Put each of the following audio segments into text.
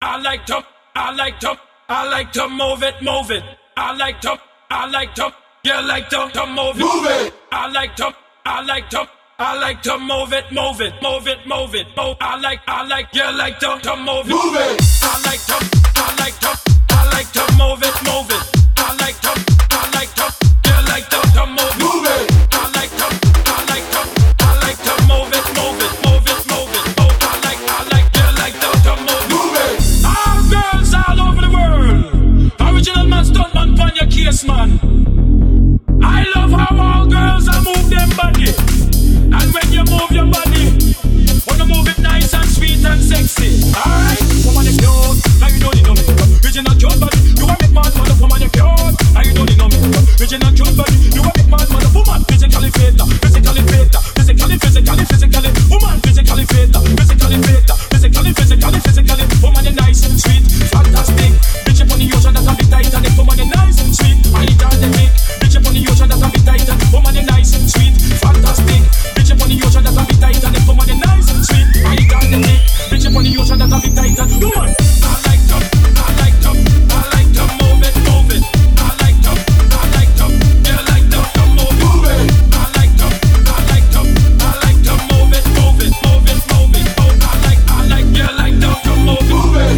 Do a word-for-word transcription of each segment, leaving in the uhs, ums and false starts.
I like to, I like to, I like to move it, move it. I like to, I like to, you like to, to move it. Move it. I like to, I like to, I like to move it, move it, move it, move it. Move. I like, I like, you like to, to move it. Move it. I like to, I like to, I like to move it, move it. I like to, I like to, you like to, to move it. Move it. I like to, I like to, I like to move it, move it, move it, move it. Move. I like, I like, you like to, to move it. Move it. All girls all over the world. Original man, stunt man, pon your case, man. I love how all girls are move them body. And when you move your body, wanna move it nice and sweet and sexy. Alright, woman you cute, now you don't know me. Original cute body, you a big man, mother. Woman you cute, now you don't know me. Original cute body, you a big man, mother. Woman physically fit, physically fit, physically, physically, physically. Woman physically fit, physically fit, physically, physically, physically. Woman you nice, sweet, fantastic. Bitch up on the ocean that can be tight and it. Woman you nice, sweet, I need to make. Bitch up on the ocean that can be tight and woman you nice, sweet, fantastic. Bitch up on the ocean that can be tight and woman you nice, sweet, I need to make. Bitch up on the ocean that can be tight and woman. I like to, I like to, I like to move it, move it. I like to, I like to, you like to, to move it. Move it. I like to, I like to, I like to move it, move it, move it, move it. Oh, I like, I like, you like to, to move it. Move it.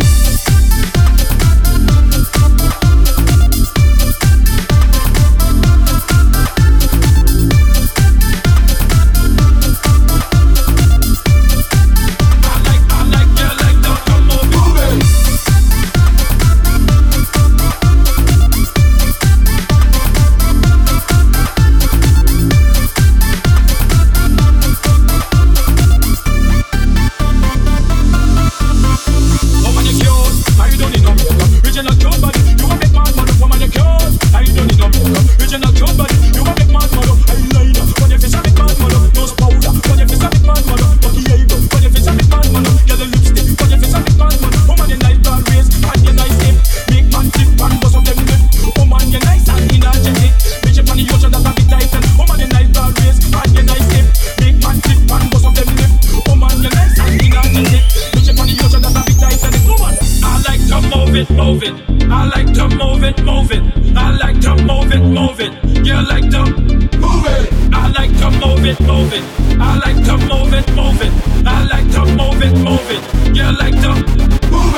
Move it, I like to move it, move it. I like to move it, move it. You like to Move it. I like to move it, move it. I like to move it, move it. I like to move it, move it. You like to Move